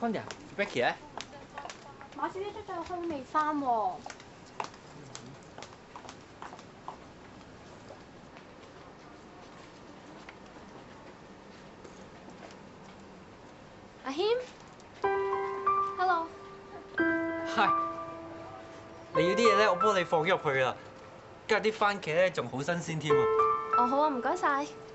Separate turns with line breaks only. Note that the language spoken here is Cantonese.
Connie、Becky 咧？
馬小姐出咗去未返喎？阿謙 ，Hello。
係。你要啲嘢咧，我幫你放咗入去啦。今日啲番茄咧仲好新鮮添啊！
哦，好啊，唔該晒。